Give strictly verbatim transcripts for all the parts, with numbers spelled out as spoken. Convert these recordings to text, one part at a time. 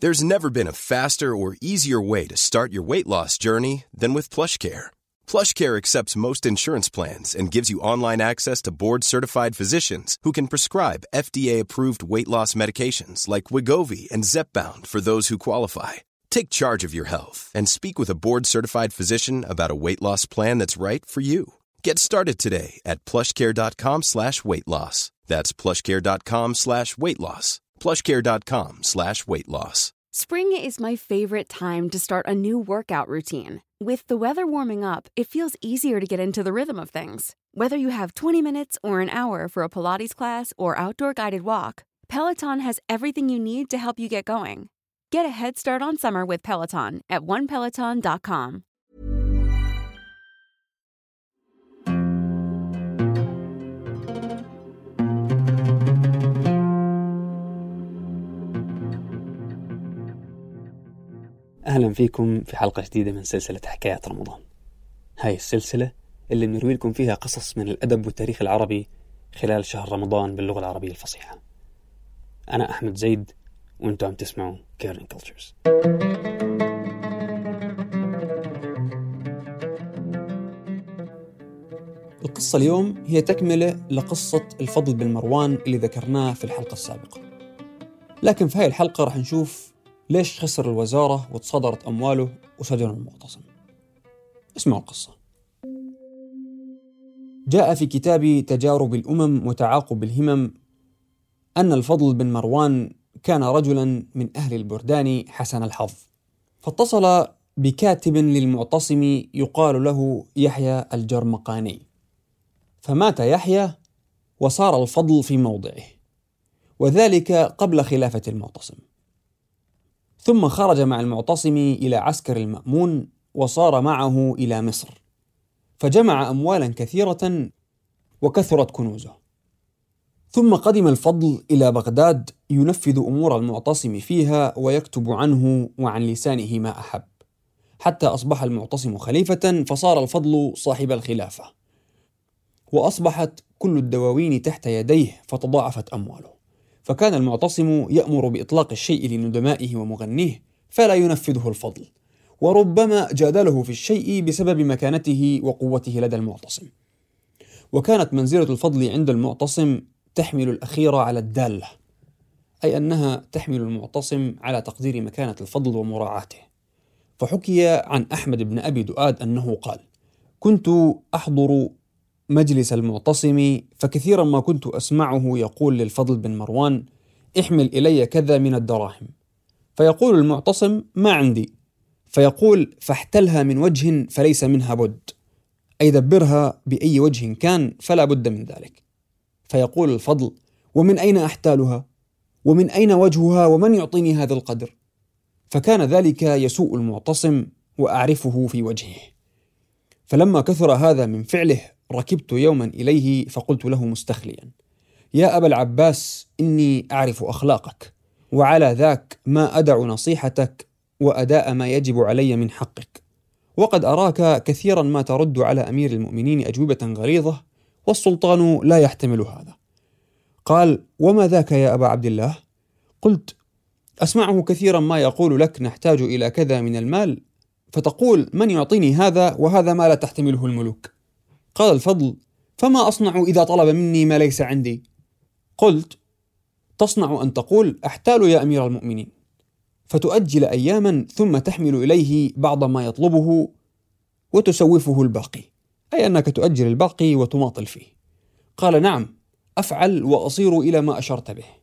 There's never been a faster or easier way to start your weight loss journey than with PlushCare. PlushCare accepts most insurance plans and gives you online access to board-certified physicians who can prescribe F D A-approved weight loss medications like Wegovy and Zepbound for those who qualify. Take charge of your health and speak with a board-certified physician about a weight loss plan that's right for you. Get started today at plushcare.com slash weight loss. That's plushcare.com slash weight loss. plushcare.com slash weight loss. Spring is my favorite time to start a new workout routine. With the weather warming up, it feels easier to get into the rhythm of things. Whether you have twenty minutes or an hour for a Pilates class or outdoor guided walk, Peloton has everything you need to help you get going. Get a head start on summer with Peloton at one peloton dot com. أهلا فيكم في حلقة جديدة من سلسلة حكايات رمضان. هاي السلسلة اللي بنروي لكم فيها قصص من الأدب والتاريخ العربي خلال شهر رمضان باللغة العربية الفصيحة. أنا أحمد زيد وأنتم عم تسمعوا كيرن كولتشرز. القصة اليوم هي تكملة لقصة الفضل بن مروان اللي ذكرناه في الحلقة السابقة، لكن في هاي الحلقة رح نشوف ليش خسر الوزارة وتصادرت أمواله وسجن المعتصم. اسمعوا القصة. جاء في كتاب تجارب الأمم وتعاقب الهمم أن الفضل بن مروان كان رجلا من أهل البردان حسن الحظ، فاتصل بكاتب للمعتصم يقال له يحيى الجرمقاني، فمات يحيى وصار الفضل في موضعه، وذلك قبل خلافة المعتصم. ثم خرج مع المعتصم إلى عسكر المأمون وصار معه إلى مصر، فجمع أموالا كثيرة وكثرت كنوزه. ثم قدم الفضل إلى بغداد ينفذ أمور المعتصم فيها ويكتب عنه وعن لسانه ما أحب، حتى أصبح المعتصم خليفة، فصار الفضل صاحب الخلافة، وأصبحت كل الدواوين تحت يديه، فتضاعفت أمواله. فكان المعتصم يأمر بإطلاق الشيء لندمائه ومغنيه فلا ينفذه الفضل، وربما جادله في الشيء بسبب مكانته وقوته لدى المعتصم. وكانت منزلة الفضل عند المعتصم تحمل الأخير على الدالة، أي أنها تحمل المعتصم على تقدير مكانة الفضل ومراعاته. فحكي عن أحمد بن أبي دؤاد أنه قال: كنت أحضر مجلس المعتصم، فكثيرا ما كنت أسمعه يقول للفضل بن مروان: احمل إلي كذا من الدراهم، فيقول المعتصم: ما عندي، فيقول: فاحتلها من وجه فليس منها بد، أي دبرها بأي وجه كان فلا بد من ذلك. فيقول الفضل: ومن أين أحتالها؟ ومن أين وجهها؟ ومن يعطيني هذا القدر؟ فكان ذلك يسوء المعتصم وأعرفه في وجهه. فلما كثر هذا من فعله ركبت يوما إليه فقلت له مستخليا: يا أبا العباس، إني أعرف أخلاقك، وعلى ذاك ما أدع نصيحتك وأداء ما يجب علي من حقك، وقد أراك كثيرا ما ترد على أمير المؤمنين أجوبة غليظة، والسلطان لا يحتمل هذا. قال: وما ذاك يا أبا عبد الله؟ قلت: أسمعه كثيرا ما يقول لك نحتاج إلى كذا من المال، فتقول: من يعطيني هذا وهذا ما لا تحتمله الملوك. قال الفضل: فما أصنع إذا طلب مني ما ليس عندي؟ قلت: تصنع أن تقول: أحتال يا أمير المؤمنين، فتؤجل أياما ثم تحمل إليه بعض ما يطلبه وتسوفه الباقي، أي أنك تؤجل الباقي وتماطل فيه. قال: نعم أفعل وأصير إلى ما أشرت به.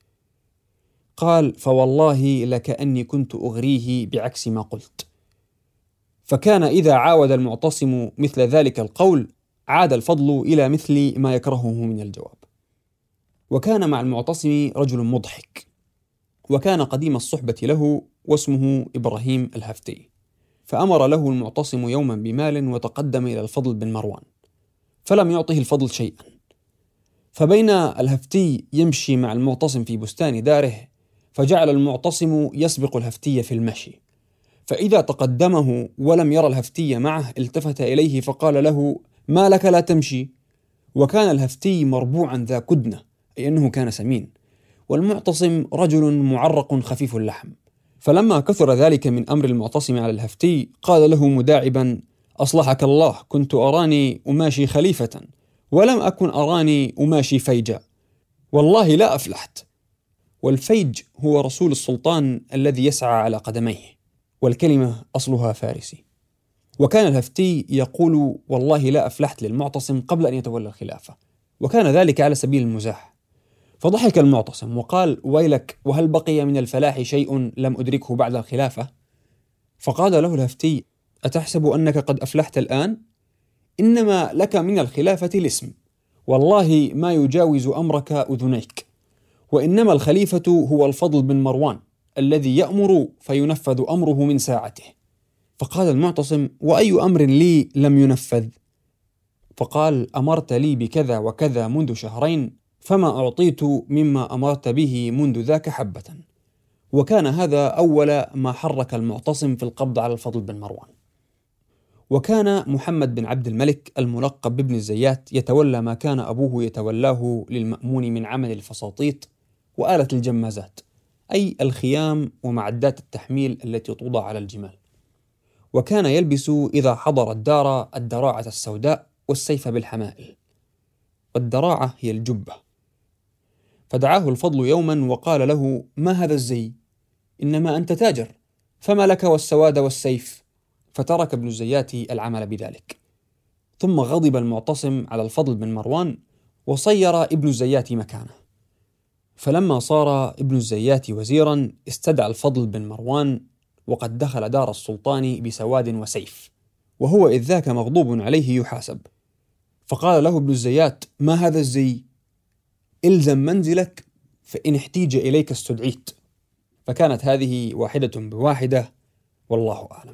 قال: فوالله لكأني كنت أغريه بعكس ما قلت. فكان إذا عاود المعتصم مثل ذلك القول عاد الفضل إلى مثل ما يكرهه من الجواب. وكان مع المعتصم رجل مضحك، وكان قديم الصحبة له، واسمه إبراهيم الهفتي. فأمر له المعتصم يوما بمال وتقدم إلى الفضل بن مروان، فلم يعطه الفضل شيئا. فبين الهفتي يمشي مع المعتصم في بستان داره، فجعل المعتصم يسبق الهفتي في المشي، فإذا تقدمه ولم يرى الهفتي معه التفت إليه فقال له: ما لك لا تمشي؟ وكان الهفتي مربوعا ذا كدنة، أي أنه كان سمين، والمعتصم رجل معرق خفيف اللحم، فلما كثر ذلك من أمر المعتصم على الهفتي قال له مداعبا: أصلحك الله، كنت أراني أماشي خليفة ولم أكن أراني أماشي فيجا، والله لا أفلحت. والفيج هو رسول السلطان الذي يسعى على قدميه، والكلمة أصلها فارسي. وكان الهفتي يقول والله لا أفلحت للمعتصم قبل أن يتولى الخلافة، وكان ذلك على سبيل المزاح. فضحك المعتصم وقال: ويلك، وهل بقي من الفلاح شيء لم أدركه بعد الخلافة؟ فقال له الهفتي: أتحسب أنك قد أفلحت الآن؟ إنما لك من الخلافة الاسم، والله ما يجاوز أمرك أذنيك، وإنما الخليفة هو الفضل بن مروان الذي يأمر فينفذ أمره من ساعته. فقال المعتصم: وأي أمر لي لم ينفذ؟ فقال: أمرت لي بكذا وكذا منذ شهرين، فما أعطيت مما أمرت به منذ ذاك حبة. وكان هذا أول ما حرك المعتصم في القبض على الفضل بن مروان. وكان محمد بن عبد الملك الملقب بابن الزيات يتولى ما كان أبوه يتولاه للمأمون من عمل الفساطيط وآلة الجمازات، أي الخيام ومعدات التحميل التي توضع على الجمال. وكان يلبس إذا حضر الدار الدراعة السوداء والسيف بالحمائل، والدراعة هي الجبة. فدعاه الفضل يوما وقال له: ما هذا الزي؟ إنما أنت تاجر، فما لك والسواد والسيف؟ فترك ابن الزيات العمل بذلك. ثم غضب المعتصم على الفضل بن مروان وصير ابن الزيات مكانه. فلما صار ابن الزيات وزيرا استدعى الفضل بن مروان وقد دخل دار السلطان بسواد وسيف، وهو إذ ذاك مغضوب عليه يحاسب. فقال له ابن الزيات: ما هذا الزي؟ إلزم منزلك، فإن احتيج إليك استدعيت. فكانت هذه واحدة بواحدة، والله أعلم.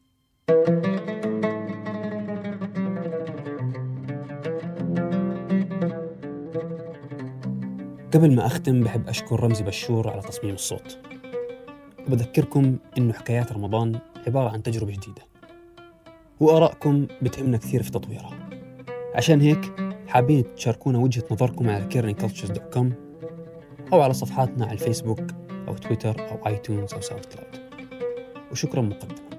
قبل ما أختم بحب أشكر رمزي بشور على تصميم الصوت، وبذكركم إنه حكايات رمضان عبارة عن تجربة جديدة، وآرائكم بتهمنا كثير في تطويرها. عشان هيك حابين تشاركونا وجهة نظركم على كيرني كلتشرز دوت كوم أو على صفحاتنا على الفيسبوك أو تويتر أو آيتونز أو ساوند كلاود. وشكرا مقدما.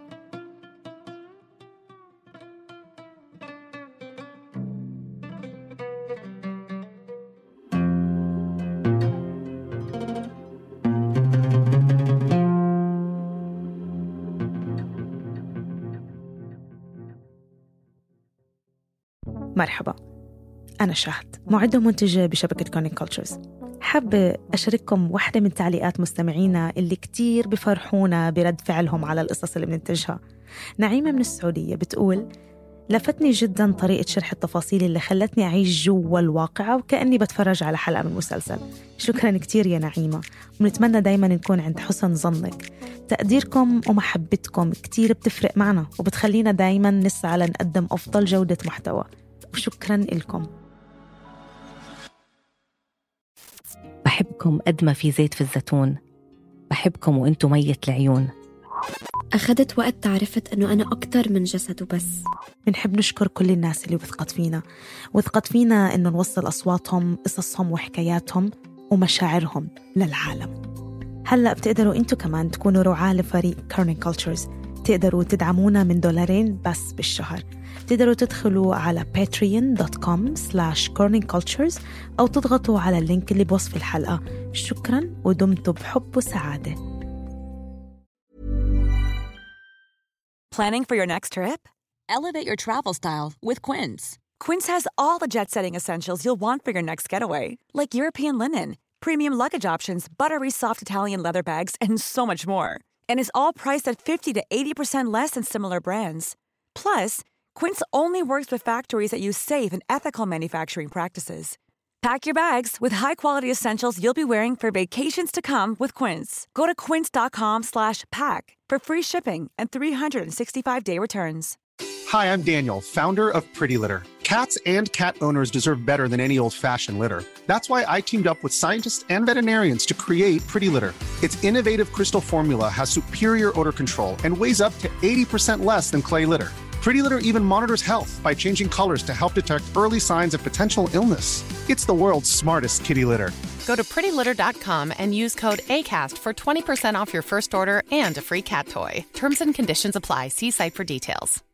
مرحبا، أنا شهد، معدة ومنتجة بشبكة كورنينج كلتشرز. حابة أشارككم واحدة من تعليقات مستمعينا اللي كتير بفرحونا برد فعلهم على القصص اللي بننتجها. نعيمة من السعودية بتقول: لفتني جدا طريقة شرح التفاصيل اللي خلتني أعيش جوا الواقعة وكأني بتفرج على حلقة من مسلسل. شكرا كتير يا نعيمة، ونتمنى دايما نكون عند حسن ظنك. تقديركم ومحبتكم كتير بتفرق معنا وبتخلينا دايما نسعى لنقدم أفضل جودة محتوى، وشكرا لكم. بحبكم قد ما في زيت في الزيتون، بحبكم وانتو مية العيون. أخذت وقت تعرفت أنه أنا أكتر من جسد وبس. بنحب نشكر كل الناس اللي وثقت فينا وثقت فينا أنه نوصل أصواتهم، قصصهم وحكاياتهم ومشاعرهم للعالم. هلأ بتقدروا انتو كمان تكونوا رعاة لفريق كورنينج كلتشرز. تقدروا تدعمونا من دولارين بس بالشهر. تقدروا تدخلوا على patreon دوت كوم سلاش كورنينج كلتشرز أو تضغطوا على اللينك اللي بوصف الحلقة. شكرا ودمتوا بحب وسعادة. Planning for your next trip? Elevate your travel style with Quince. Quince has all the jet-setting essentials you'll want for your next getaway, like European linen, premium luggage options, buttery soft Italian leather bags, and so much more. And is all priced at fifty to eighty percent less than similar brands. Plus, Quince only works with factories that use safe and ethical manufacturing practices. Pack your bags with high-quality essentials you'll be wearing for vacations to come with Quince. Go to quince dot com slash pack for free shipping and three hundred sixty-five day returns. Hi, I'm Daniel, founder of Pretty Litter. Cats and cat owners deserve better than any old-fashioned litter. That's why I teamed up with scientists and veterinarians to create Pretty Litter. Its innovative crystal formula has superior odor control and weighs up to eighty percent less than clay litter. Pretty Litter even monitors health by changing colors to help detect early signs of potential illness. It's the world's smartest kitty litter. Go to pretty litter dot com and use code ACAST for twenty percent off your first order and a free cat toy. Terms and conditions apply. See site for details.